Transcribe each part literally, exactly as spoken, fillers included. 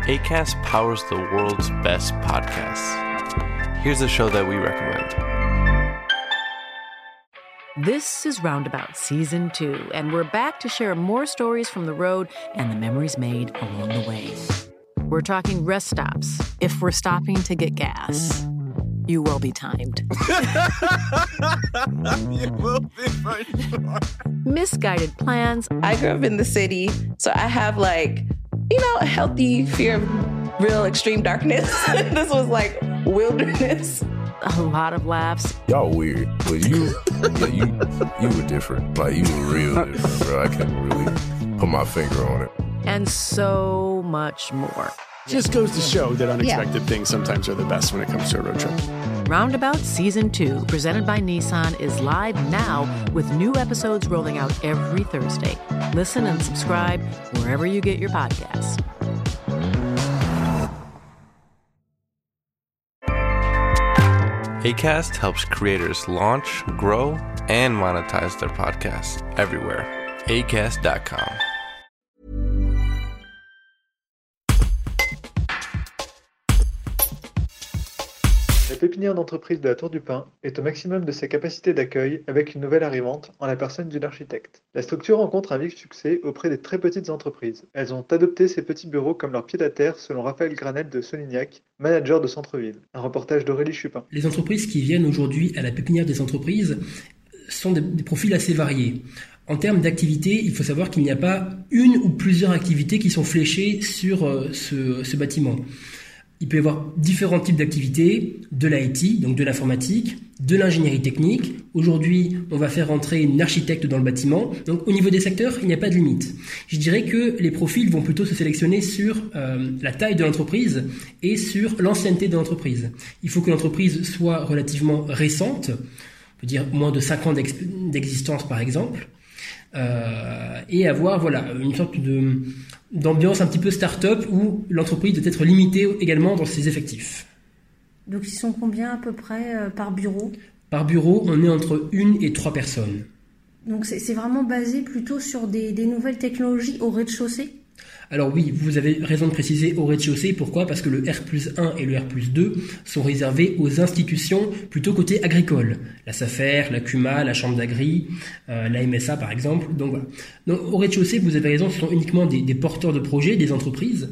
Acast powers the world's best podcasts. Here's a show that we recommend. This is Roundabout Season two, and we're back to share more stories from the road and the memories made along the way. We're talking rest stops, if we're stopping to get gas. You will be timed. You will be for sure. Misguided plans. I grew up in the city, so I have like, you know, a healthy fear of real extreme darkness. This was like wilderness. A lot of laughs. Y'all weird, but you, yeah, you, you were different. Like, you were real different, bro. I can't really put my finger on it. And so much more. Just goes to show that unexpected yeah. things sometimes are the best when it comes to a road trip. Roundabout Season two, presented by Nissan, is live now with new episodes rolling out every Thursday. Listen and subscribe wherever you get your podcasts. Acast helps creators launch, grow, and monetize their podcasts everywhere. Acast dot com. La pépinière d'entreprise de la Tour du Pin est au maximum de ses capacités d'accueil avec une nouvelle arrivante en la personne d'une architecte. La structure rencontre un vif succès auprès des très petites entreprises. Elles ont adopté ces petits bureaux comme leur pied-à-terre selon Raphaël Granel de Solignac, manager de centre-ville. Un reportage d'Aurélie Chupin. Les entreprises qui viennent aujourd'hui à la pépinière des entreprises sont des, des profils assez variés. En termes d'activité, il faut savoir qu'il n'y a pas une ou plusieurs activités qui sont fléchées sur euh, ce, ce bâtiment. Il peut y avoir différents types d'activités, de l'I T, donc de l'informatique, de l'ingénierie technique. Aujourd'hui, on va faire entrer une architecte dans le bâtiment. Donc au niveau des secteurs, il n'y a pas de limite. Je dirais que les profils vont plutôt se sélectionner sur euh, la taille de l'entreprise et sur l'ancienneté de l'entreprise. Il faut que l'entreprise soit relativement récente, on peut dire moins de cinq ans d'ex- d'existence par exemple, euh, et avoir voilà une sorte de d'ambiance un petit peu start-up où l'entreprise doit être limitée également dans ses effectifs. Donc ils sont combien à peu près euh, par bureau ? Par bureau, on est entre une et trois personnes. Donc c'est, c'est vraiment basé plutôt sur des, des nouvelles technologies au rez-de-chaussée ? Alors oui, vous avez raison de préciser au rez-de-chaussée. Pourquoi ? Parce que le R plus un et le R plus deux sont réservés aux institutions plutôt côté agricole. La SAFER, la CUMA, la Chambre d'Agri, euh, la M S A par exemple. Donc voilà. Donc, au rez-de-chaussée, vous avez raison, ce sont uniquement des, des porteurs de projets, des entreprises,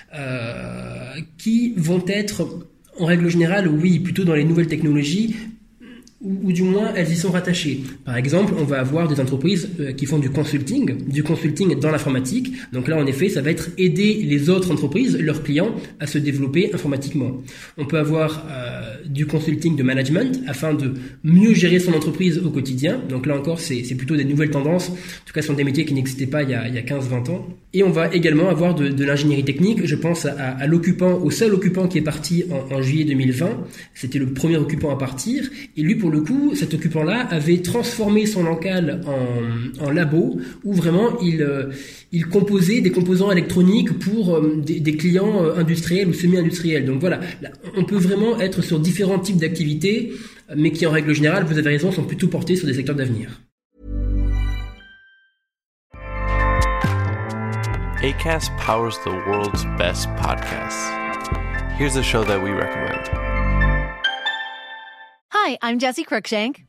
euh, qui vont être, en règle générale, oui, plutôt dans les nouvelles technologies, ou, ou du moins elles y sont rattachées. Par exemple, on va avoir des entreprises euh, qui font du consulting, du consulting dans l'informatique. Donc là, en effet, ça va être aider les autres entreprises, leurs clients, à se développer informatiquement. On peut avoir euh, du consulting de management afin de mieux gérer son entreprise au quotidien. Donc là encore, c'est, c'est plutôt des nouvelles tendances. En tout cas, ce sont des métiers qui n'existaient pas il y a, il y a quinze vingt ans. Et on va également avoir de, de l'ingénierie technique. Je pense à, à l'occupant, au seul occupant qui est parti en, en juillet deux mille vingt. C'était le premier occupant à partir. Et lui, pour le coup, cet occupant-là avait transformé son local en, en labo où vraiment il, euh, il composait des composants électroniques pour euh, des, des clients euh, industriels ou semi-industriels. Donc voilà, là, on peut vraiment être sur différents types d'activités, mais qui en règle générale, vous avez raison, sont plutôt portés sur des secteurs d'avenir. Acast powers the world's best podcasts. Here's a show that we recommend. Hi, I'm Jessie Cruikshank.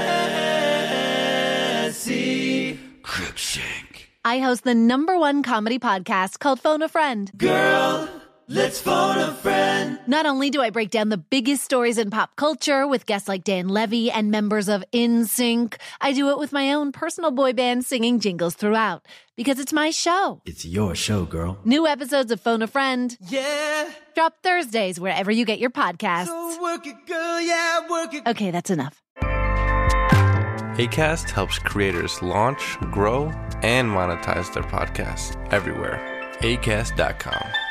Jessie Cruikshank. I host the number one comedy podcast called Phone a Friend. Girl, let's phone a friend. Not only do I break down the biggest stories in pop culture with guests like Dan Levy and members of N Sync, I do it with my own personal boy band singing jingles throughout. Because it's my show. It's your show, girl. New episodes of Phone a Friend. Yeah. Drop Thursdays wherever you get your podcasts. So work it, girl, yeah, work it. Okay, that's enough. Acast helps creators launch, grow, and monetize their podcasts everywhere. Acast dot com.